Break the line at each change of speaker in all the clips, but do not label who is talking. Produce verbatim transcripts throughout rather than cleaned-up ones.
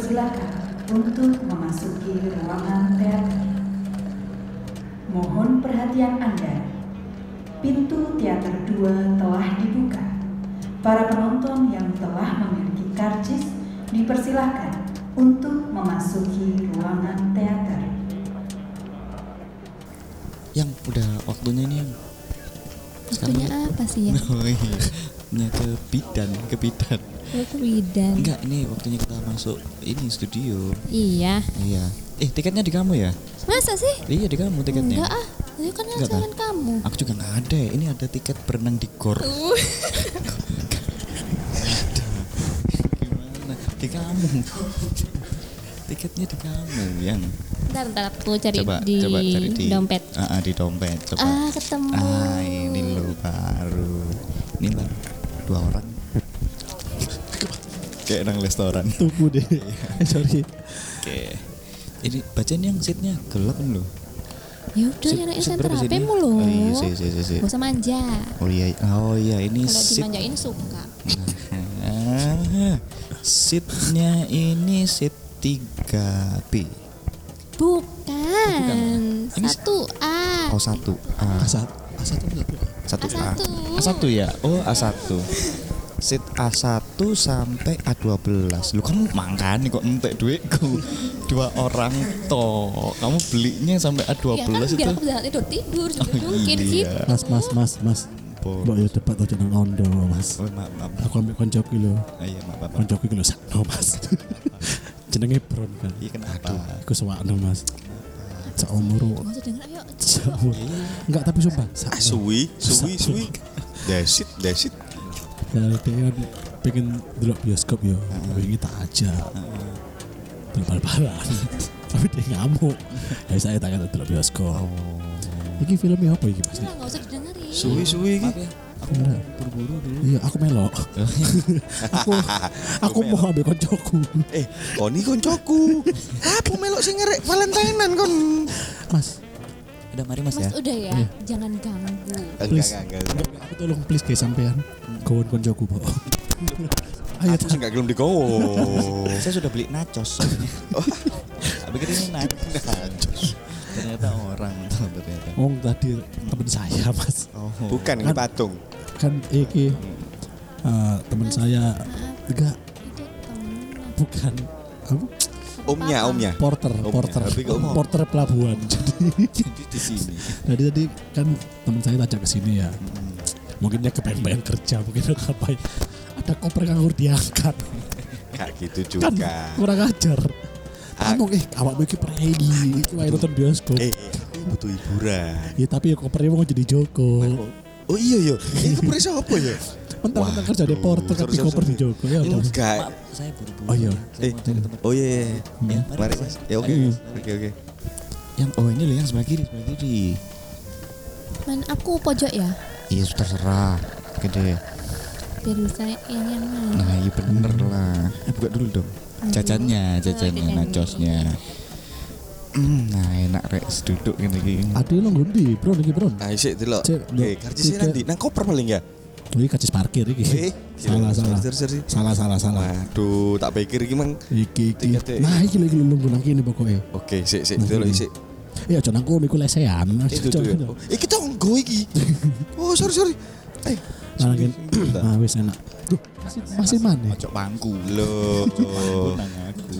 dipersilakan untuk memasuki ruangan teater. Mohon perhatian Anda. Pintu teater dua telah dibuka. Para penonton yang telah memiliki karcis dipersilakan untuk memasuki ruangan teater.
Yang udah waktunya ini yang
waktunya apa sih ya?
Oh iya, nya ke bidan, ke bidan.
Oh, ke bidan.
Enggak, ini waktunya kita masuk ini studio.
Iya.
Iya. Eh, tiketnya di kamu ya?
Masa sih?
Iya, di kamu tiketnya.
Enggak ah, itu kan
Enggak,
jalan kamu.
Aku juga nggak ada. Ini ada tiket berenang di gor.
Uh.
Gimana? Di kamu. Tiketnya di kamu yang.
Ntar ntar aku cari
Coba,
di
coba cari di
dompet.
Ah, ah, di dompet. Coba.
Ah, ketemu.
Ah, ini lo baru. Ini baru dua orang. Kayak orang restoran.
Tunggu deh. Sorry.
Oke. Ini bacaan yang seatnya gelap kan lo?
Ya udah
Seat-
nyalain
seat
senter
berapa
H P
sini?
mulu.
Oh iya, sih, sih, sih, sih.
Gak usah manja.
Oh iya, oh iya ini
Kalau
seat.
dimanjain suka.
Nah, seatnya ini seat tiga B.
Bukan.
Ini
Satu A.
Oh satu A.
A satu A satu
Satu
A satu.
A. A satu ya. Oh A satu. Seat A satu sampai A dua belas. Lu kan makan kok entek duitku. Dua orang toh. Kamu belinya sampai A dua
Ya kan
belas
biar
itu.
aku bisa tidur tidur
Oh,
mungkin
iya.
gitu.
Mas mas mas mas.
Bo-
Mbak ya debat aja nang ondo mas.
Oh, maaf, maaf.
Aku ambil koncoku lho.
Ah, iya, maaf, maaf.
Koncoku iki lho sakno mas. Jenenge Bron kan.
Iya kenapa?
Aduh, iku sewakno mas. Seumur.
Gak usah denger ayo.
Seumur. Enggak tapi sumpah.
Ah, suwi, suwi, suwi. Desit, desit.
Ya dia kan pengen delok bioskop ya. Pengen tak aja. Delok bal-balan. Tapi dia ngamuk. Ya saya tak kata delok bioskop. Iki filmnya apa iki Mas?
Udah gak usah didengerin.
Suwi, suwi iki.
Maaf ya. Aku
Enggak.
buru-buru dulu.
Iya, aku melok. aku aku mau ambil koncoku.
Eh, koni koncoku. Apa melok sing ngerek Valentinean kon?
Mas,
Udah mari Mas,
Mas
ya.
udah ya,
Iya.
jangan ganggu.
Enggak,
Please.
enggak, enggak.
enggak, aku tolong please guys sampean. Kawan koncoku, Pak. Ayo
Aku sih enggak gelem digowo.
Saya sudah beli nachos soalnya. Aku pikir ini nachos. Ternyata orang tuh ternyata.
Oh, tadi teman saya, Mas.
Oh.
Bukan ini patung.
Kan iki eh, teman saya enggak
Itu temen.
bukan apa?
Omnya, omnya.
Porter,
Omnya.
porter,
Tapi kok om?
porter pelabuhan. Jadi,
Jadi di sini.
jadi tadi kan teman saya tajak ke sini ya. Mungkin dia kepengen kerja, mungkin dia ngapain. Ada koper nganggur diangkat.
Kayak gitu
Kan
juga.
kurang ajar.
Ah.
Kamu eh awakmu iki prei, iki wae nonton bioskop.
Eh, aku butuh hiburan.
Ya tapi ya kopernya mau jadi Joko.
Oh iya iya. Ini koper siapa ya?
Mentang-mentang kerja di porter
sorry,
tapi
sorry,
koper di
sorry.
Joko ya. udah.
Enggak.
Maaf, saya buru-buru.
Oh iya.
Saya
Eh,
mau cari tempat.
oh iya. iya.
Ya,
Mari Mas. Ya oke.
Ayo.
Oke oke.
Yang oh ini loh yang sebelah kiri, sebelah kiri.
Man aku pojok ya,
Iya, sudah terserah. Gede.
biar bisa yang yang mana.
Nah, iya bener lah. Eh, buka dulu dong. Jajannya, jajannya,
Oh,
nachosnya. Hmm, nah enak rek duduk gini gini.
Ade lo ngundi, Bro, iki, Bro.
Ah, isik delok.
Cek,
Eh,
delok.
karcisnya
Tiket.
nanti nang koper paling ya.
Oh, iki kacis parkir iki.
Eh,
salah, salah.
sorry, sorry.
Salah, salah, salah.
Waduh, tak pikir iki mang.
Iki iki.
Tiketnya.
Nah, iki lagi nunggu nang kene pokoke.
Oke, sik sik
Nah,
delok
ini.
isik.
Ya aja nang kono iku lesehan.
Itu tuh ya. Oh, iki tonggo iki. Oh, sorry sorry. Eh,
Nah, lagi. Nah, wis enak. Duh, masih masih mana?
Pojok bangku.
Loh.
Nang aku.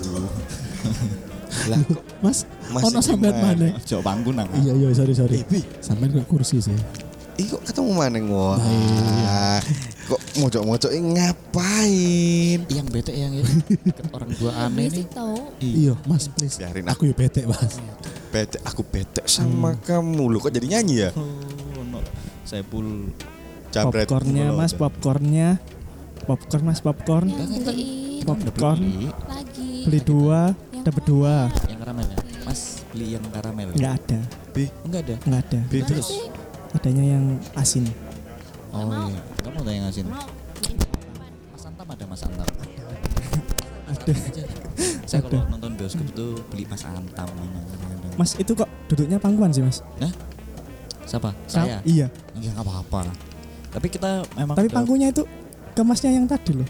Lah kok
Mas,
Masih
ono sampean
gimana?
mana?
Pojok bangku nang.
Iya, iya, sorry, sorry.
Eh, Bi.
Sampean kok kursi sih.
Ih kok ketemu maneng wah.
Nah, iya.
Kok mojok-mojok ngapain?
Yang bete yang ya. Kan orang dua aneh nih.
Berisik tau.
Iya, Mas, please.
Biarin
Aku ya bete, Mas.
Bete, aku bete sama kamu. Lu kok jadi nyanyi ya?
Oh, no. Saya pul
Jabret.
Popcornnya mas, popcornnya, popcorn mas, popcorn,
Yang beliin
popcorn,
beli
lagi.
beli dua,
Yang
dapat dua,
yang karamel ya. Mas beli yang karamel.
nggak ada,
Bi,
Enggak ada.
nggak ada,
bi terus.
adanya yang asin.
Oh
mau.
iya. Kamu ada yang ngasin.
Mau.
Mas Antam ada Mas Antam.
Ada.
Saya kalau nonton bioskop itu beli Mas Antam.
Mas itu kok duduknya pangkuan sih mas?
Siapa?
Sa-
Saya.
Iya.
Ya nggak apa-apa. Tapi kita memang
Tapi
udah-
pangkunya itu ke masnya yang tadi loh.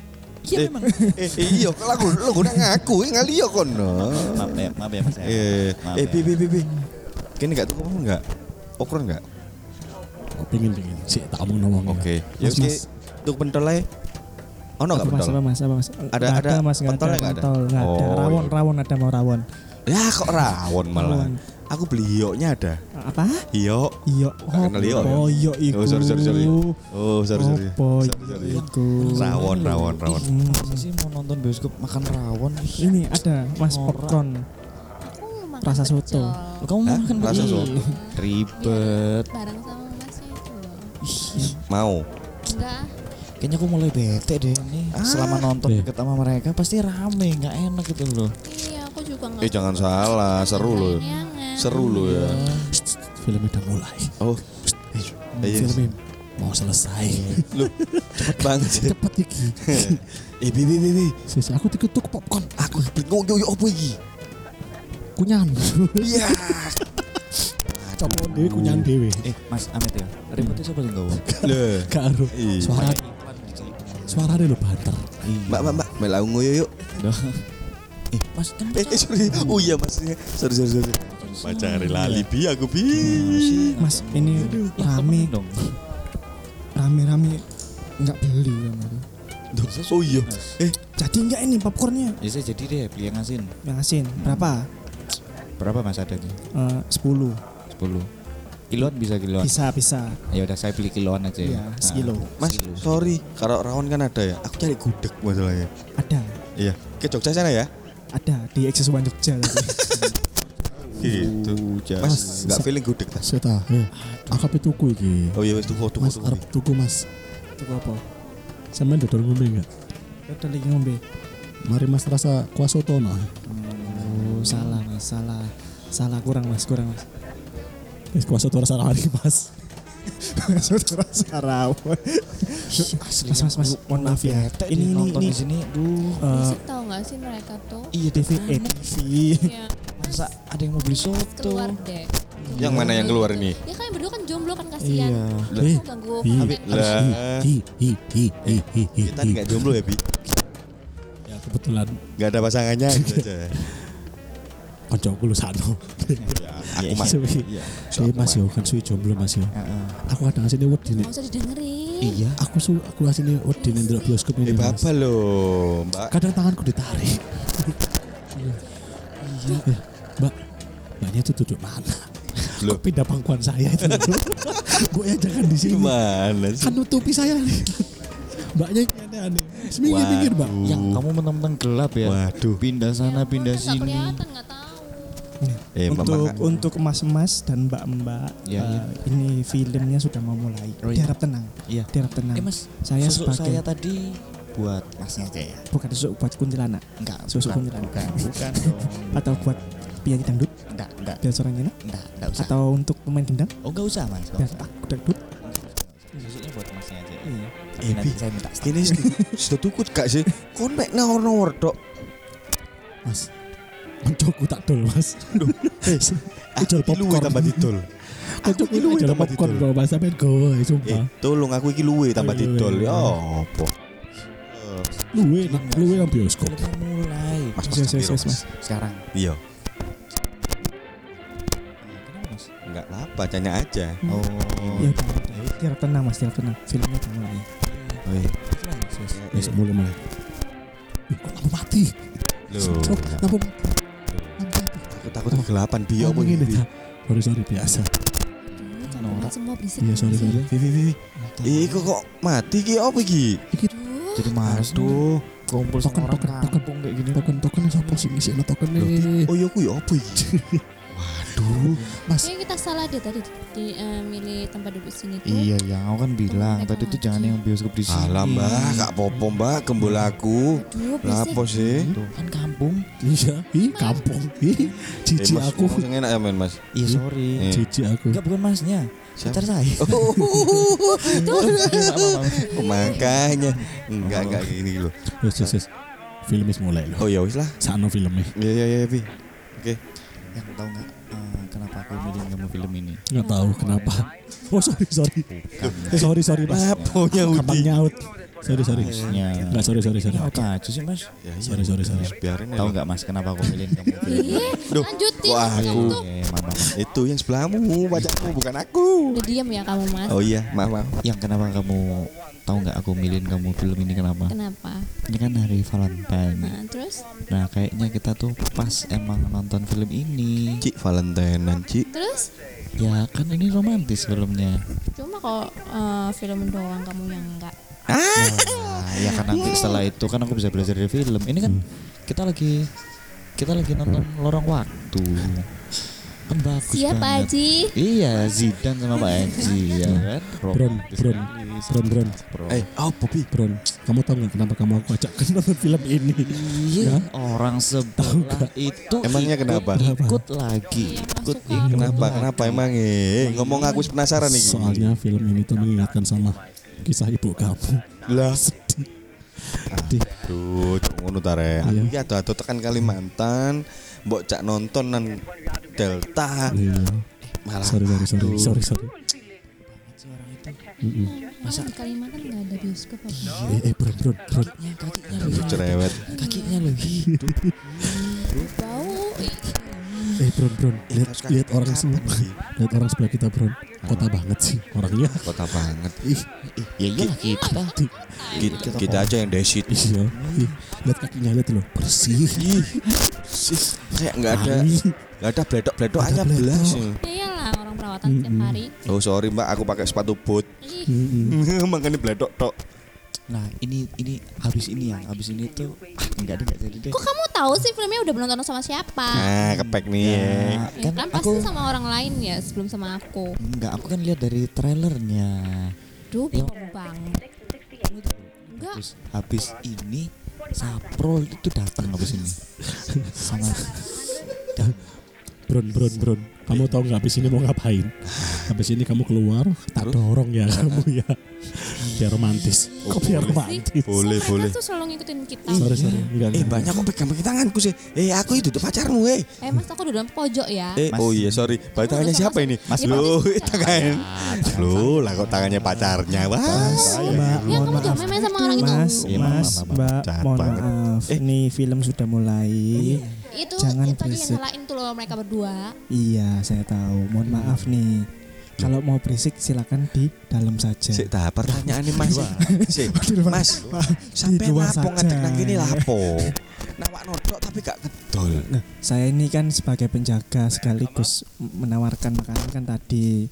Iya
Eh,
memang.
Eh iya kalau aku lu guna ngaku ngali yo kono.
Maaf ya, maaf ya Mas.
Eh,
Maaf
eh
ya.
bi bi bi bi. Kene enggak tuh kamu enggak? Okron enggak?
Oh, pengen pengen. Sik tak omong-omong.
Oke. Ya
Mas,
wis
mas.
tuh pentol ae. Ono enggak
Apa mas,
pentol?
apa mas, apa mas?
Ada-
Nggak
ada
mas, nggak
pentolnya
ada,
nggak ada?
pentol, nggak ada.
Oh,
Rawon,
iya.
rawon ada mau rawon.
Ya kok rawon malah.
Rawon.
Aku beli hioknya ada.
Apa?
Hiok.
Iya.
Nggak kenal hiok ya?
Oh iya iku.
Oh sorry sorry sorry. Oh sorry sorry.
Opo
Sorry, sorry.
iku.
Rawon rawon rawon.
Hmm.
Masa sih mau nonton bioskop makan rawon?
Ini ada mas
Norak.
popcorn.
Aku makan
Rasa
pecel.
soto.
Kamu
Hah?
makan
Rasa
begini?
soto.
Ribet.
Bareng sama masnya itu loh.
Mau.
Enggak.
Kayaknya aku mulai bete deh nih.
Ah.
Selama nonton
Eh.
deket sama mereka pasti rame, nggak enak gitu loh.
Iya, aku juga enggak.
Eh jangan salah, seru loh. Seru loh ya.
Filmnya udah mulai.
Oh. Iya.
Filmnya mau selesai.
Lu cepet banget sih.
Cepet iki.
Eh bi bi bi bi.
Sis aku diketuk popcorn.
Aku bingung yo yo opo iki?
Kunyan.
Iya.
Coba dhewe kunyan dhewe.
Eh, Mas Amit ya. Remote siapa sih enggak?
Loh.
Karo
Iya.
suara suaranya lo banter.
Mbak mbak mbak melau ngoyo yuk.
Eh, Mas kan
Eh, eh sorry. Oh iya mas. Sorry sorry sorry. Pacari lali bi aku bi.
Mas ini rame,
dong.
rame-rame nggak beli kan aku.
Oh iya. Eh
Jadi nggak ini popcornnya
Ya saya jadi deh beli yang asin.
yang asin berapa?
Berapa Mas adanya?
Eh, sepuluh.
sepuluh. Kiloan bisa kiloan.
Bisa bisa.
Ya udah saya beli kiloan aja.
Iya,
Nah,
sekilo.
mas
sekilo.
sorry. Kalau rawon kan ada ya. Aku cari gudeg masalahnya.
Ada,
Iya. Ke Jogja sana ya.
ada di Eksis One Jogja tadi.
Gitu.
Jas.
Mas nggak feeling gudeg tas.
Saya tahu. Eh, aku apa tuku iki?
Oh iya wis tuh foto
Mas
foto.
arep tuku Mas.
Itu apa?
Sampeyan dodol ngombe enggak?
Udah lagi ngombe.
Mari Mas rasa kuah soto nah.
Oh, salah mas, salah, salah kurang mas, kurang mas.
Wis kuah soto rasa mari Mas.
Saudara Sarawon.
Asli
Mas, mas, mas, mohon maaf ya.
Bete
Ini,
deh
ini,
nonton
ini.
di sini. Duh.
Eh,
Berisik tau gak sih mereka tuh?
Iya
T V, eh, T V.
Iya,
Masa ada yang mau beli soto?
keluar deh.
Yang mana yang keluar ini?
Ya kan berdua kan jomblo kan kasihan.
Iya.
Eh,
Aku ganggu
Hi,
Pak.
Lah.
hi, hi, hi, hi, hi, hi,
Kita nggak jomblo ya bi.
Ya kebetulan
Nggak ada pasangannya gitu aja.
koncoku lu sano.
Aku
Iya,
mas.
Iya.
Saya Mas yo kan suwi jomblo Mas yo.
Heeh.
Aku kadang asine wedi nih.
Gak usah didengerin.
Iya.
Aku su aku asine wedi nih ndelok bioskop
Eh
ini Mas.
bapak loh mbak.
Kadang tanganku ditarik. Iya. Eh, Mbak, Mbaknya itu duduk mana?
Loh.
Kok pindah pangkuan saya itu? Gue ya jangan di sini.
Gimana sih?
Kan nutupi saya nih. Mbaknya yang aneh-aneh. Seminggu pinggir Mbak.
Yang kamu mentang-mentang gelap ya.
Waduh.
Pindah sana, pindah
Nggak
sini.
kelihatan, nggak tahu.
Eh
Untuk
mama.
untuk emas-emas dan mbak-mbak,
Ya,
eh,
ya.
ini filmnya sudah mau mulai.
Oh, iya.
Diharap tenang,
Iya.
diharap tenang.
Eh Mas,
saya
susuk
sebagai
saya tadi buat Masnya aja ya.
bukan susuk buat kuntilanak
Enggak,
Susuk
bukan,
kuntilanak.
bukan, bukan dong.
atau buat penyanyi dangdut
Enggak, enggak,
biar suaranya enak,
enggak, enggak usah.
atau untuk pemain gendang
Oh, enggak usah Mas. Enggak
biar
usah.
aku dangdut.
Susuknya buat Masnya aja.
Iya.
Tapi
Eh,
nanti
Bi.
saya minta stop.
Ini sudah tukut gak sih? Kon mek nawar-nawar dok.
Mas, koncoku tak dol Mas.
Ah,
Jual
iki luwe
popcorn.
tambah didol.
Koncoku
Aku luwe
jual
tambah
popcorn
didol.
kok Mas sampean gowe
Eh,
sumpah.
tolong aku iki luwe tambah
Oh, iya,
didol.
iya.
Ya apa?
Luwe nak luwe nang bioskop.
Filmnya mulai.
Mas,
Yes,
mas,
yes, yes,
mas,
mas.
Sekarang.
Iya.
Kenapa Mas?
Enggak apa, tanya aja.
Oh.
Ya udah, udah. Diharap tenang mas, diharap tenang. Filmnya udah mulai.
Oh, iya.
Wis mulai mulai. Ih, kok lampu mati?
Loh,
Oh, lampu mati.
aku takut kegelapan bi
Oh,
apa
begini
ini?
dah. Sorry sorry biasa.
Aduh, capek banget semua berisik.
Iya sorry sorry.
Vi, vi, vi. Ih, kok kok mati ki apa iki?
Aduh,
Jadi males tuh kumpul
Token
sama orang
token token
kampung kayak gini.
token token siapa sih ngisi token
Loh,
nih?
Oh iya ku ya apa iki? Waduh.
Mas,
kayaknya kita salah deh tadi di eh, milih tempat duduk sini tuh.
Iya, ya aku kan bilang
mereka
tadi tuh
ngaji.
jangan yang bioskop di sini.
Alah mbak, gak popo mbak, gembul aku.
Aduh, berisik.
Lapo sih?
Tuh, kan kampung.
iya, ih kampung, ih
Eh
cici
mas,
aku,
ngomong yang enak ya men mas.
Iya, sorry.
Eh.
cici aku.
Enggak, bukan Masnya.
Siapa?
Pacar saya.
Oh, makanya enggak enggak gini loh.
Wes wes wes. Film is mulai loh.
Oh ya wis lah.
Sano filmnya.
Iya iya iya Bi. Oke.
Yang tahu nggak eh, kenapa aku milih kamu film ini?
Nggak tahu kenapa. Oh sorry sorry. sorry sorry mas.
Laponya
Gampang
Udi.
nyaut. Sorry sorry.
Harusnya.
Enggak sorry sorry sorry.
Apa aja sih mas?
Sorry sorry sorry.
Biarin
Tahu nggak mas kenapa aku milihin kamu film?
Iya,
Duh,
lanjutin.
wah,
Kamu
aku.
tuh
Oke, maaf, maaf.
Itu yang sebelahmu, pacarmu bukan aku.
udah diam ya kamu mas.
Oh iya, maaf maaf.
Yang kenapa kamu tahu nggak aku milihin kamu film ini kenapa?
Kenapa?
Ini kan hari Valentine.
Nah terus?
Nah kayaknya kita tuh pas emang nonton film ini.
Cik Valentinean, Cik.
Terus?
Ya kan ini romantis filmnya.
Cuma kok eh, film doang kamu yang enggak.
Nah, ya kan nanti setelah itu kan aku bisa belajar dari film. Ini kan kita lagi kita lagi nonton Lorong Waktu. Kan bagus
Siapa
banget.
Haji?
Iya, Zidane sama Pak Haji ya kan.
Bron,
Romantis
Bron,
sekali.
Bron, Bron.
Bro.
Eh, oh Bobby.
Bron, kamu tahu nggak kenapa kamu aku ajak nonton film ini?
Iya,
Ya?
orang sebelah itu
Emangnya
ikut,
kenapa?
Ikut lagi,
Iya,
ikut
masuk
ikut
Kenapa?
lagi.
Kenapa emang eh ngomong aku penasaran nih.
Soalnya film ini tuh mengingatkan sama kisah ibu kamu.
lah
Sedih. Sedih.
Aduh, cok ngono ta rek. Aku iki ado-ado tekan Kalimantan, mbok cak nonton nang Delta.
Iya.
Malah
Sorry sorry sorry sorry sorry. Mm-mm.
Masa di Kalimantan nggak ada bioskop apa?
Eh eh Bron Bron Bron.
Kakinya loh,
cerewet.
kakinya loh hidup.
Bau.
Eh Bron Bron. Lihat
Terus kan
lihat orang
kapan
semua.
lagi?
Lihat orang sebelah kita Bron. Kota banget sih orangnya.
Kota banget.
Ih,
Ya iyalah kita.
Kita, kita aja yang desit.
iya. Ih, lihat kakinya lihat loh bersih.
Sih, kayak enggak ada
Wangi.
enggak ada bledok-bledok
Nggak ada
hanya belas.
Ya iyalah orang perawatan tiap hari.
Oh sorry Mbak, aku pakai sepatu boot.
Ih,
Mm-mm.
Makanya bledok tok.
Nah ini ini habis ini yang habis ini tuh ah, enggak ada enggak jadi deh.
kok kamu tahu sih filmnya udah nonton sama siapa?
Nah, kepek nih.
Ya,
Ya,
kan
kan pasti
aku
sama orang lain ya sebelum sama aku.
enggak aku kan lihat dari trailernya.
Duh,
Ya.
bingung banget. Enggak.
Terus habis ini Saprol itu datang habis ini sama
Bron Bron Bron. Kamu tahu nggak habis ini mau ngapain? Habis ini kamu keluar, tak dorong ya kamu ya. Biar romantis. Kok biar romantis?
Boleh,
Kok
boleh.
mereka tuh selalu ngikutin kita.
Sorry sorry. Enggak.
Eh
enggak.
banyak kok pegang-pegang tanganku sih. Eh aku itu tuh pacarmu eh.
Eh mas aku udah dalam pojok ya.
Eh
Mas.
oh iya sorry. Baik tangannya siapa ini?
Mas.
Loh, tangan. Loh, lah kok tangannya pacarnya. Wah.
Mbak,
Ya
mohon
kamu
maaf.
jangan main-main sama orang itu.
Mas,
Iya, maaf,
Mas,
maaf, maaf.
Mbak,
Jahat
mohon
banget.
maaf.
Eh.
Ini film sudah mulai.
Itu
Jangan
itu tadi yang
berisik.
nyalain tuh loh mereka berdua.
Iya, saya tahu. Mohon maaf nih. Kalau mau berisik silakan di dalam saja.
Sik tahap pertanyaan nih Mas. Sik, Mas. Sampai
luar
lapo
saja.
ngadeg nang kene lapo. Nawak nodok tapi gak kedol.
Nah, saya ini kan sebagai penjaga sekaligus menawarkan makanan kan tadi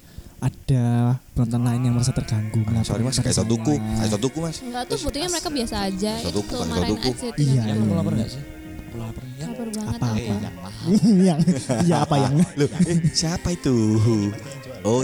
ada penonton lain yang merasa terganggu.
Ah, sorry Mas,
melaporkan
kayak
pada
tuku,
saya.
kayak tuku Mas.
Enggak tuh buktinya mereka biasa aja.
Satu
Itu
tuku,
tuh
satu
marahin
tuku.
aja itu
Iya,
yang
yang
iya.
aku lapar enggak sih? Aku lapar ya.
lapar banget
Apa,
aku.
Eh, yang mahal.
yang iya apa yang
Loh, eh, siapa itu? Oh,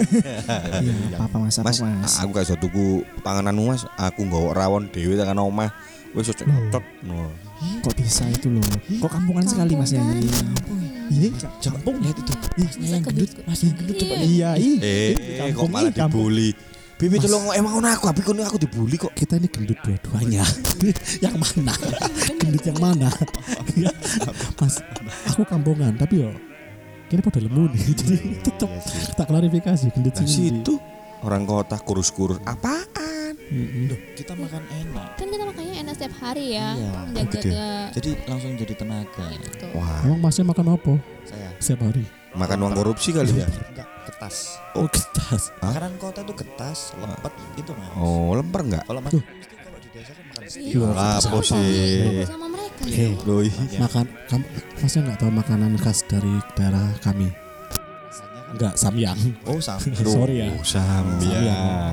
iya apa apa mas apa
Mas,
mas,
aku kayak tuku pangananmu Mas. Aku nggawa rawon dhewe tekan omah. Wis cocok. No.
kok bisa itu loh kok kampungan sekali mas ya ini iya
Campung lihat itu. Masnya yang gendut, mas yang gendut coba lihat.
iya ih
Eh, kok
kampung
malah
ih, kampung.
dibully. Bibi tolong emang ngono aku, tapi kono aku dibully kok.
Kita ini gendut dua-duanya. Yang mana? Gendut yang mana? Ya, Mas, aku kampungan tapi yo kini pada lemu nih. Jadi tetap tak klarifikasi gendut
Nah,
sih.
situ orang kota kurus-kurus apaan?
Loh, kita makan enak.
Kan kita makanya enak setiap hari ya.
Iya,
Menjaga
Jadi langsung jadi tenaga.
gitu.
Wah,
Emang masnya makan apa?
Saya
Setiap hari?
makan uang korupsi kali ya?
enggak ketas.
Oh, kertas.
Hah?
Makanan kota tuh ketas, lepet gitu mas.
Oh, lemper enggak?
Kalau mas mesti kalau di desa kan makan steak.
Iya,
Lah,
sama
apa sih?
sama mereka.
Eh,
Loh,
makan kamu masnya nggak tahu makanan khas dari daerah kami? Enggak, samyang.
Oh sama.
Sorry ya.
sambiang.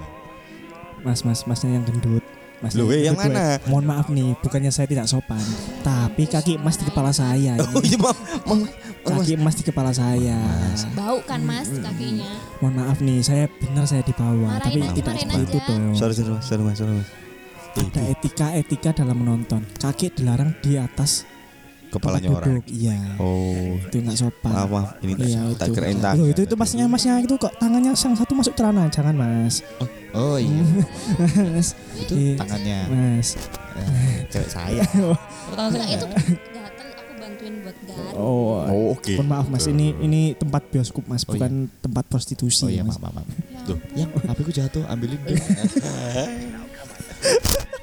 mas mas masnya yang gendut mas
Loh, eh, yang mana?
mohon maaf nih bukannya saya tidak sopan tapi kaki emas di kepala saya
Oh
ini.
iya, Mam. Mam.
Kaki emas di kepala saya
Bau kan mas kakinya.
mohon maaf nih saya benar saya di bawah
Marahin
tapi
aja,
tidak
marahin
seperti itu
aja.
dong
Sorry, sorry, Mas. Sorry, Mas. Sorry, Mas.
ada etika-etika dalam menonton kaki dilarang di atas
Kepalanya
tempat
orang.
duduk. Iya
Oh,
itu nggak sopan
maaf, maaf. Ini
Iya,
tak
itu.
kirain tangan.
Loh, itu itu masnya masnya itu kok tangannya yang satu masuk celana jangan mas
Oh iya.
mas
Itu
Iya.
tangannya
mas
eh, cewek saya. Oh, tangan
Enggak
saya.
itu gatel aku bantuin buat gatel.
oh
Oh, oke.
mohon maaf mas ini ini tempat bioskop mas
Oh,
bukan tempat prostitusi
Oh iya
mas.
maaf maaf. maaf.
Ya
Tuh, yang H P ku jatuh, ambilin dong.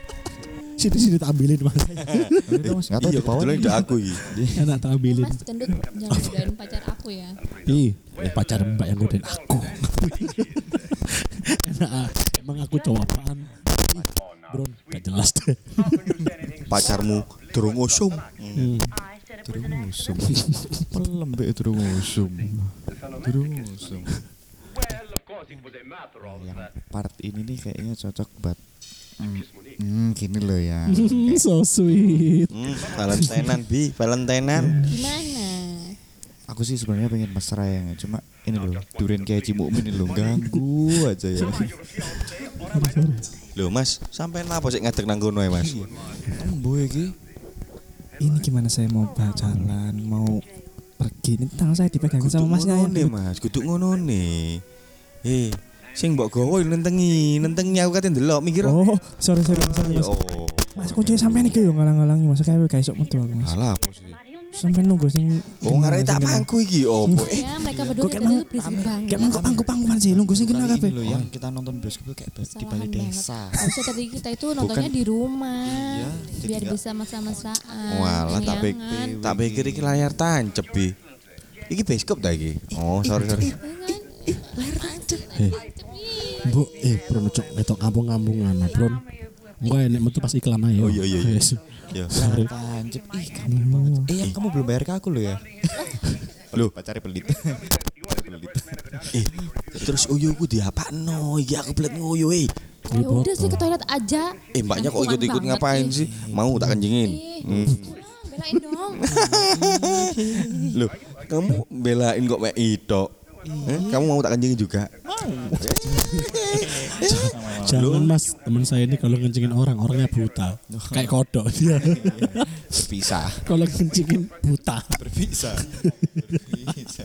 Sini sini tak ambilin Mas.
Enggak tahu
Iya,
di bawah.
kebetulan udah aku iki.
Enak tak ambilin.
Mas gendut jangan godain pacar aku ya.
Ih, eh, pacar Mbak yang godain aku. Enak ah. Emang aku cowok apaan? Ih, Bro, gak jelas deh.
Pacarmu durung usum.
Hmm.
Durung usum. Pelem mbek durung usum. Durung usum. Yang part ini nih kayaknya cocok buat hmm, hmm, gini loh ya.
So sweet.
Hmm, Valentinean bi, Valentinean.
Gimana?
Aku sih sebenarnya pengen mesra ya, cuma ini loh Duren kayak Cimukmin ini loh ganggu aja ya.
Loh Mas, sampean apa sih ngadeg nang kono ya Mas?
Embo iki.
Ini gimana saya mau jalan, mau pergi. Ini tangan saya dipegang sama masnya ya.
nih Mas, kudu ngono nih. Eh, sing mbok gawa nentengi, nentengi aku kate ndelok mikir.
Oh, sorry sorry sorry Mas.
Oh.
Mas kuncinya sampean iki yo ngalang-ngalangi Mas, kayak gak iso metu aku Mas.
Alah apa sih?
Sampai nunggu sing
Oh ngarep tak pangku iki opo? Eh,
Ya mereka berdua
kayak
dari
mau-
dulu berisik banget.
kayak mangkuk pangku pangkuan sih nunggu sing kena
Kali
kabeh.
ini loh yang kita nonton bioskop tuh kayak di
Kesalahan
balai
banget.
desa.
Harusnya tadi kita itu nontonnya di rumah.
Iya, jadi
Biar
nggak-
bisa sama-sama-mesraan.
walah tak pik
Jangan.
tak pikir iki layar tancep bi. Iki bioskop ta iki? Oh, sorry sorry.
Eh, Bu, eh, Bro, cok, ngetok kampung-kampungan, nah, Bro. Enggak enek metu pas iklan aja.
Oh, iya, iya, iya.
Yes.
Ya.
Sorry.
Tancep, ih kamu banget. Eh yang kamu belum bayar ke aku loh ya. Loh pacarnya pelit. Pelit.
Eh, terus uyuku diapakno? Iki aku belet nguyu eh.
Ya udah sih ke toilet aja.
Eh, mbaknya kok
Kampungan
ikut-ikut
banget,
ngapain
ih.
sih? Mau tak kencingin?
Ih,
Hmm.
belain dong.
Loh, kamu belain kok mek itu? Eh, kamu mau tak kencingin juga?
Jangan Mas, teman saya ini kalau ngencingin orang, orangnya buta. Kayak kodok dia.
Bisa.
Kalau ngencingin buta.
Berbisa. Berbisa.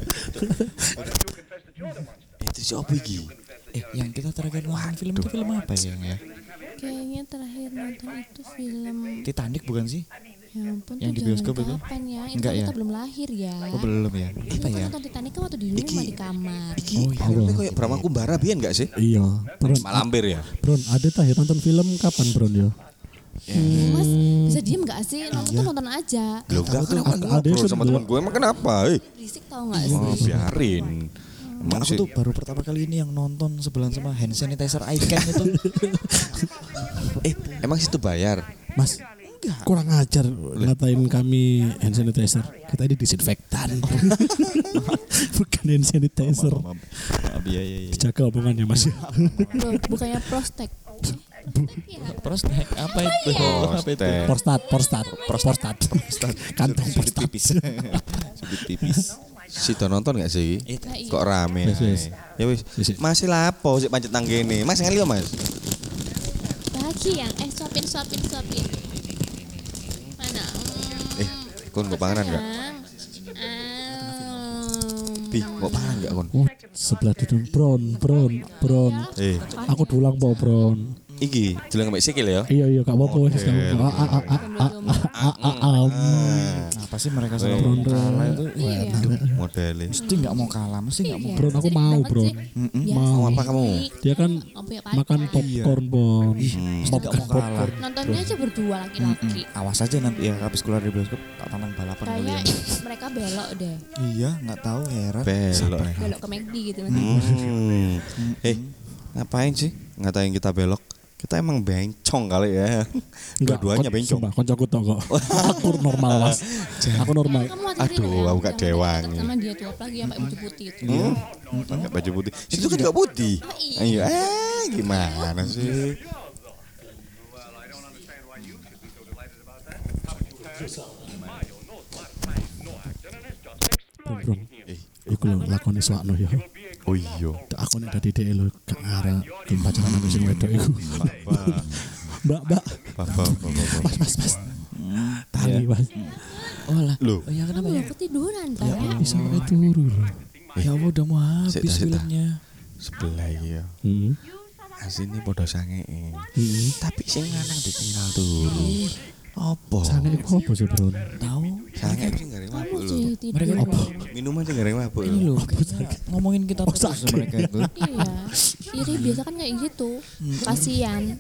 Eh, terus apa iki?
Eh yang kita terakhir nonton film itu film apa ya yang ya?
Kayaknya terakhir nonton itu film
Titanic bukan sih?
ya ampun
Yang
tuh
di
zaman
bioskop itu?
kapan ya? Itu
Enggak
kan
ya?
kita belum lahir ya.
Oh belum ya?
Kita
Apa ya?
nonton Titanic kan waktu di rumah di kamar.
Iki
Oh, iya.
filmnya kayak Brahma Kumbara biyen gak sih?
Iya, Bro.
Malampir ya?
Bro, ada tah ya nonton film kapan, Bro ya?
Mas bisa diem gak sih? Nonton tuh nonton aja.
Loh, gak kenapa
Ada- ada
ngobrol
yang
sama
sebelum-
teman gue emang kenapa? Eh,
Berisik tau gak sih?
oh, biarin. Emang
Aku
sih.
tuh baru pertama kali ini yang nonton sebelah sama hand sanitizer Icon itu.
Eh, emang situ bayar?
Mas, kurang ajar ngatain kami hand sanitizer. Kita ini disinfektan. Bukan hand sanitizer.
Maaf, maaf, iya iya iya.
Jaga omongannya Mas.
Loh, bukannya prostek.
Prostek apa itu? Apa itu?
Prostek.
Porstat, porstat, porstat. Kantong
Sudut
porstat.
tipis. Sudut tipis.
Situ nonton gak sih?
Eh,
Kok rame?
Wis, wis.
Ya wis.
Wis, wis.
Masih lapo sik pancet nang kene. Mas ngali yo, Mas.
Lagi yang eh suapin suapin suapin. Mana? Hmm,
Eh, kon kok panganan gak?
yang, um,
Bi, kok pangan gak kon?
Oh, sebelah duduk Bron, Bron, Bron.
Eh,
Aku dulang po Bron.
iki jelang mbek sikil ya.
Iya iya gak apa-apa wis. Ah, ah, ah, ah, ah, ah, ah, ah.
Apa sih mereka
Weh.
selalu kalah itu?
Iya.
Modele.
Mesti nggak mau kalah, mesti nggak mau.
Iya,
Bron, aku
sering
mau,
banget
Bron.
sih.
Mm-mm.
Biasa
Mau.
Mau apa kamu?
sih.
Dia kan
Mau punya pacar.
makan popcorn Bon.
Nggak
Popcorn
mau kalah.
popcorn.
Nontonnya aja berdua laki-laki.
Awas aja nanti ya habis keluar dari bioskop tak tantang balapan
Kayaknya
kalian.
mereka belok deh.
Iya, nggak tahu heran.
Belok.
Belok ke McD gitu.
Hmm. Eh, ngapain sih ngatain kita belok? Kita emang bencong kali ya.
Enggak,
Dua-duanya
kon-
bencong.
Sumpah, koncoku tok kok. Aku normal Mas. Aku normal.
Kamu hati-hati
Aduh,
loh ya,
aku gak
jangan
dewangi.
deket sama dia tuh apalagi yang pakai baju putih itu.
Hmm? Pakai baju putih. Situ kan gak putih.
iya.
Ayo, eh gimana sih?
Bron, Bron. Iku lho lakoni swakno ya.
Oh iya.
Aku nek dadi dhek lho gak ngarep gelem pacaran karo sing wedok iku. Mbak, Mbak.
Papa, papa, papa.
Mas, Mas, Mas. Tali, Mas.
Oh lah.
Loh,
Oh ya kenapa
Kamu
ya?
udah ketiduran kan?
Bisa pakai turu lho.
Ya Allah udah mau habis
Sita, sita.
filmnya.
sebelah iya.
Hmm.
Asine padha sangee.
Hmm.
Tapi sing lanang ditinggal turu. Apa?
Sange iku apa sih, Bro?
Tahu?
Sange sing gare
Kamu
mabuk lho.
sih tidur.
Mereka apa?
Minuman sing gare mabuk
Ini
lho.
loh, kayaknya ngomongin kita terus mereka itu.
Iya. Iri biasa kan kayak gitu. Kasian.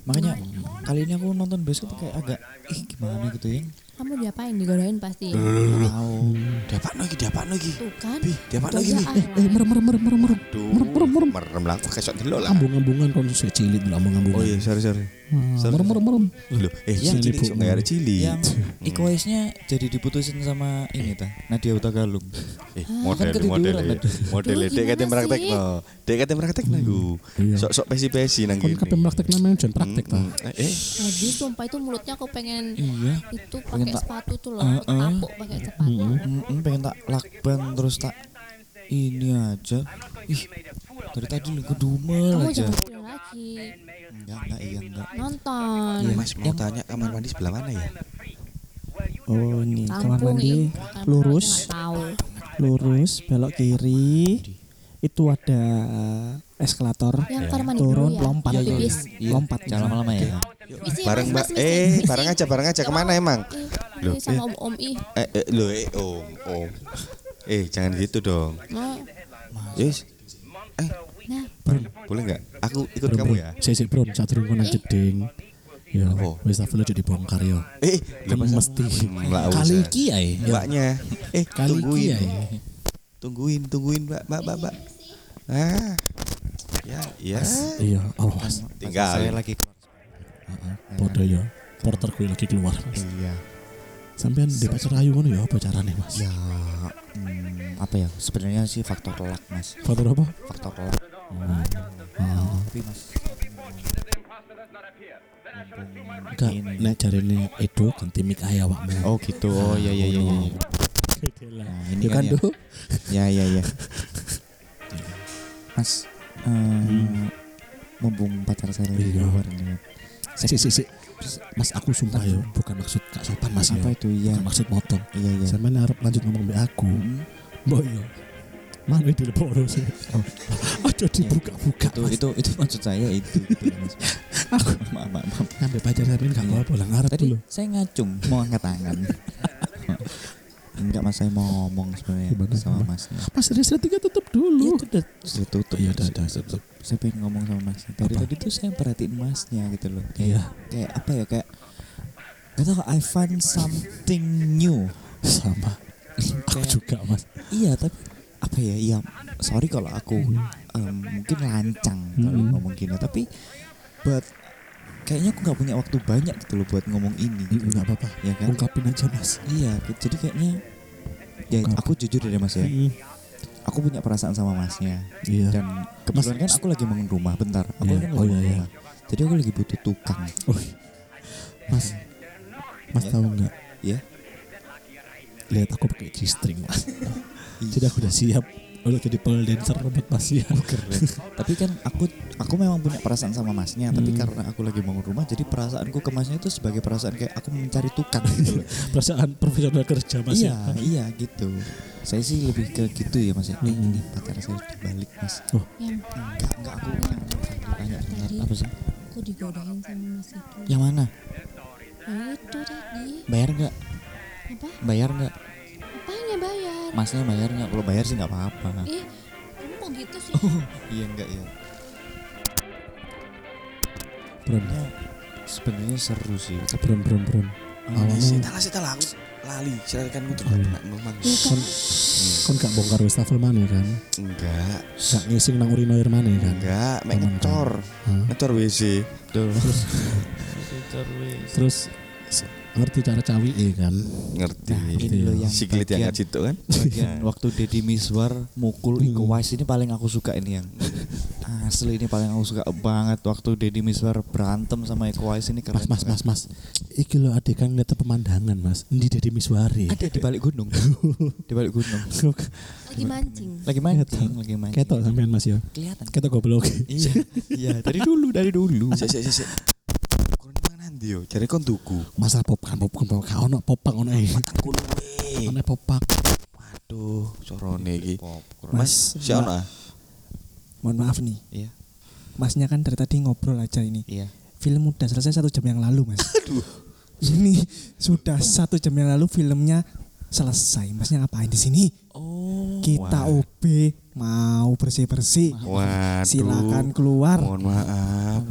Makanya kali ini aku nonton bioskop kayak agak ih gimana gitu ya.
Kamu diapain? Digodain pasti.
Nggak tahu.
Diapakno iki, diapakno iki.
Tuh kan.
Bi, diapakno iki.
Itu aja
Eh merem merem merem merem merem.
Duh,
Merem merem merem.
merem lah aku kesok delok lah.
Ambung-ambungan kon sik cilik lho ambung-ambungan.
Oh iya, sorry sorry.
Ah, merem merem merem.
Loh, eh
Yang
cilik
cilik.
sok nggak ada cilik.
Yang Iko Uwais-nya jadi diputusin sama ini ta, Nadia Hutagalung.
Eh,
Kan
model
ketiduran
model
tadi.
model
Duh,
dek kate
gimana
praktekno. Dek kate praktekno iku.
Iya.
Sok-sok pesi-pesi nang
Kon
kene.
kabeh praktek namanya jan praktek ta.
Mm, mm. Eh,
Jadi sumpah itu mulutnya aku pengen
Iya.
itu
Pengen
pakai
tak-
sepatu tuh loh,
Uh,
aku
uh.
tapuk pakai sepatu.
Mm-mm, pengen tak lakban terus tak ini aja. Ih, dari tadi lu kedumel
Kamu
aja.
jangan bilang lagi.
Enggak, enggak, iya enggak.
Nonton.
iya Mas mau tanya kamar mandi sebelah mana ya?
Oh ini kamar
Kampung
mandi
ya. Kamar
lurus,
nggak tahu.
lurus, belok kiri. Itu ada eskalator.
Yang kamar mandi
Turun,
dulu ya.
lompat.
Yang
Iya,
bis.
Iya,
Lompat.
jangan lama-lama ya.
Misi,
Bareng
Mas,
Mbak.
Mas, misi,
Eh,
misi.
bareng aja, bareng aja.
Nggak
Kemana
mau.
emang?
Eh,
Loh,
sama
eh.
om om ih.
Eh, eh lo eh om, om. Eh, jangan gitu dong.
Mau.
Yes. Eh,
Nah,
boleh nggak? Aku ikut
Bron,
kamu
bron.
ya.
Sik sik bron, sadurung kon nang jeding. Ya,
Apa?
wis tak perlu jadi bongkar yo.
Eh,
Kan
lah, masa-
mesti
Hmm, lah,
kali
usah.
iki ae. yo.
Mbaknya. Eh,
Kali iki
tungguin.
ae.
Tungguin, tungguin, Mbak, Mbak, Mbak, Mbak. Ah. Ya, ya.
Iya, awas.
Tinggal.
Saya lagi keluar.
Heeh. Podo yo. Porter kuwi lagi keluar. Mas.
Iya.
Sampean di pacar ayu ngono ya apa carane, Mas?
Ya, hmm, apa ya? Sebenarnya sih faktor luck, Mas.
Faktor apa?
Faktor luck.
Oh. Ah.
Tapi Mas.
Enggak, nek jarene Edo ganti mic ae awakmu.
Oh gitu. Oh iya iya iya iya.
Nah,
Nah, ini
ini
kan
kan
ya.
tuh.
Ya ya ya. Mas, eh, mumpung pacar saya lagi
Iya.
keluar ini.
Si si si. Mas aku sumpah yo, bukan maksud gak sopan Mas yo.
Apa itu ya?
Bukan maksud motong.
Iya iya.
Sampeyan arep lanjut ngomong mbek aku.
Mm,
Mbok yo. Mana di leporo sih.
Oh.
Aja dibuka-buka.
itu
Mas.
itu itu maksud saya itu. Gitu, Mas.
Aku
maaf maaf. maaf.
ngambil pacar sampeyan gak apa-apa lah ngarep
Tadi
dulu.
saya ngacung mau angkat tangan. Enggak Mas, saya mau ngomong sebenarnya
Gimana,
sama
gimana?
Masnya.
Mas Rizky tiga tutup
Iya
dulu.
itu udah sudah tutup.
Iya, udah,
Saya-
udah,
saya-
tutup.
Saya pengen ngomong sama Masnya. Dari
Apa?
tadi tuh saya perhatiin Masnya gitu loh. Kayak,
Iya.
kayak apa ya kayak gak tau I find something new.
Sama. Aku
Kayak-
juga Mas.
Iya tapi apa ya? Iya sorry kalau aku em, mungkin lancang kalau
Hmm.
ngomong gini tapi but kayaknya aku nggak punya waktu banyak gitu loh buat ngomong ini. Gitu.
Enggak apa-apa.
Ya kan?
Ungkapin aja Mas.
Iya, gitu. Jadi kayaknya ya
Ungkap.
aku jujur ya Mas ya.
Mm.
Aku punya perasaan sama Masnya.
Iya.
Dan kebetulan kan aku lagi bangun rumah bentar. Aku
Iya.
kan lagi
Oh, iya,
bangun
iya.
rumah. Jadi aku lagi butuh tukang.
Oh. Mas. Mas
Ya.
tahu enggak?
Ya.
Lihat aku pakai G-string Mas. Jadi aku udah siap untuk jadi pole dancer buat Mas ya.
Keren. Tapi kan aku aku memang punya perasaan sama Masnya, tapi
Hmm.
karena aku lagi bangun rumah jadi perasaanku ke Masnya itu sebagai perasaan kayak aku mencari tukang gitu loh.
Perasaan profesional kerja Mas
Iya,
ya.
iya gitu. Saya sih lebih ke gitu ya Mas ya. Eh,
Hmm.
ini pacar saya udah balik Mas.
Oh.
yang
Enggak, enggak aku tanya benar
tadi
apa sih?
aku digodain sama Mas itu.
Yang mana?
Yang itu tadi.
Bayar enggak?
Apa?
Bayar enggak?
Apanya bayar?
Masnya bayar nggak? Kalau bayar sih nggak apa-apa.
Ih, kamu kok gitu sih?
Iya enggak ya.
Bron.
Ya, sebenarnya seru sih.
Bron bron bron. Awalnya
Sita lah, sita lah. Aku lali. Silakan untuk
Oh, iya.
memang.
kon kon gak bongkar wastafel mana kan?
Enggak,
Gak ngising nang urinoir mana kan?
enggak. Mek
Aman,
ngecor,
Hah?
ngecor W C.
Tuh.
Terus s- ngerti cara cawi kan?
Ngerti.
Nah, ini loh yang
Siklit yang
bagian-
nggak situ kan?
Bagian waktu Deddy Miswar mukul Iko Uwais ini paling aku suka ini yang asli ini paling aku suka banget waktu Deddy Miswar berantem sama Iko Uwais ini keren.
Mas mas mas mas. Iki lo adik kan ngeliat pemandangan Mas. Ndi Deddy Miswari.
Ada di balik gunung. Di balik gunung.
Lagi mancing.
Lagi mancing, lagi mancing.
Ketok sampean Mas ya.
Kelihatan.
Ketok goblok.
Iya, iya dari dulu, dari dulu.
Sik sik sik. Kurang mangan ndi yo? Jare kon tuku.
Masalah popang popang popang gak ono popang ono e.
Matangku luwe.
Ono popang.
Waduh, corone iki.
Mas,
Si ono ah.
mohon maaf nih.
Iya,
Masnya kan dari tadi ngobrol aja ini.
iya.
Film udah selesai satu jam yang lalu Mas. Ini sudah satu jam yang lalu filmnya selesai. Masnya ngapain di sini?
Oh.
Kita
wah.
O B mau bersih-bersih.
Waduh.
Silakan keluar.
Mohon maaf.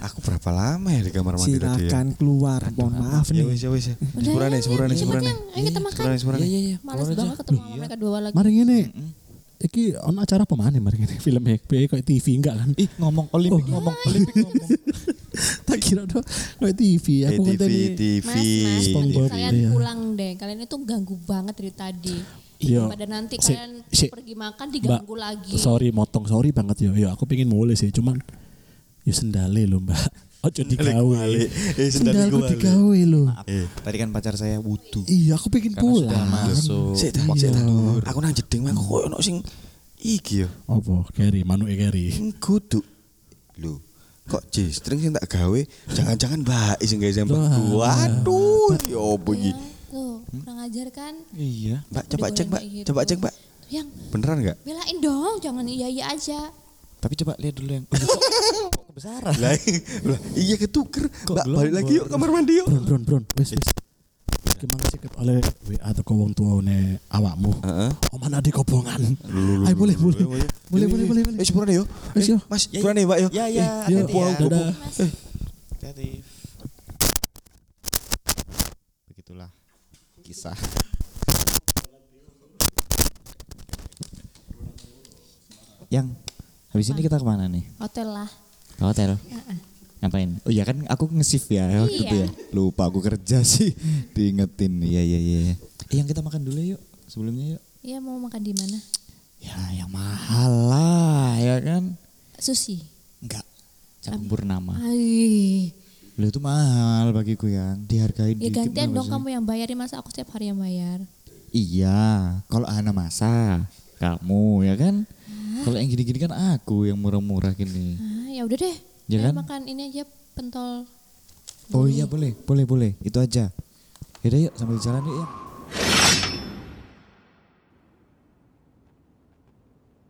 Aku berapa lama ya di kamar mandi tadi ya?
Silakan keluar. Mohon maaf
Ya
nih.
wis ya wis. ya.
Udah,
Sepurane
ya,
sepurane
ya,
sepurane.
yang- Ayo kita makan.
Sepurane sepurane.
Iya iya iya.
Males
keluar aja.
banget ketemu sama mereka dua lagi.
Mari ngene. Iki ono acara apa mana mari ngene? Film ya, kayak T V enggak kan?
Ih ngomong Olimpik
Oh.
ngomong Olimpik ngomong.
Tak kira tuh kayak T V. Aku
Eh, T V
konten
T V.
Mas, mas,
SpongeBob,
kalian
iya.
pulang deh. Kalian itu ganggu banget dari tadi.
Iya.
Pada nanti
Si-
kalian
si-
pergi makan
Mbak,
diganggu lagi.
sorry motong, sorry banget ya. Ya aku pengen mulai sih, cuman ya sendale lho Mbak. Ojo digawe.
kuali. Eh, sendale
Sendalku
kuali.
digawe lho.
Maaf. Tadi kan pacar saya wudu.
Iya, aku pengen
Karena
pulang.
sudah masuk.
Sik tak
Iya.
sik tak. Aku nang jeding mah kok ono sing iki yo.
Apa? Keri, manuke keri.
Sing kudu. Lho, kok G-string sing tak gawe jangan-jangan Mbak sing gawe sampe.
Wah.
Waduh, ya opo iki?
Ya, tuh, kurang ajar kan?
Iya.
Mbak coba
Digoreng
cek, Mbak.
kayak gitu.
Coba cek, Mbak.
Yang
Beneran enggak?
belain dong, jangan iya-iya aja.
Tapi coba lihat dulu yang. Kok kok kebesaran?
Lah, lah, iya ketuker.
Kok
Mbak
belum,
balik lagi yuk
Bor?
kamar mandi yuk.
Bron, bron, bron. Wes, wes. Gimana sih oleh W A atau wong tuane awakmu?
Heeh.
Oman adi kobongan. Ayo boleh, boleh. Boleh, boleh, boleh, boleh.
Eh, sepurane yo.
Wes, yo.
Mas,
Ya,
sepurane Mbak yo.
Ya ya,
Yo,
hati-hati ya.
dadah.
Hati-hati. Begitulah kisah. Yang habis ini kita kemana nih?
Hotel lah.
Ke hotel. Ngapain? Oh iya kan aku nge-shift ya waktu itu ya. Lupa aku kerja sih. Diingetin. Iya iya iya. Eh, yang kita makan dulu yuk. Sebelumnya yuk.
Iya, mau makan di mana?
Ya yang mahal lah ya kan.
Sushi.
Enggak. Campur nama.
Ai.
Lu itu mahal bagiku yang dihargain
Ya
dikit.
gantian
kenapa
dong
sih?
kamu yang bayarin, masa aku setiap hari yang bayar.
Iya, kalau Hana masa kamu ya kan. Kalau yang gini-gini kan aku yang murah-murah gini.
Ah, ya udah deh.
Ya
Ayo
kan?
makan ini aja pentol.
Oh iya boleh, boleh, boleh. Itu aja. Yaudah yuk sambil jalan yuk ya.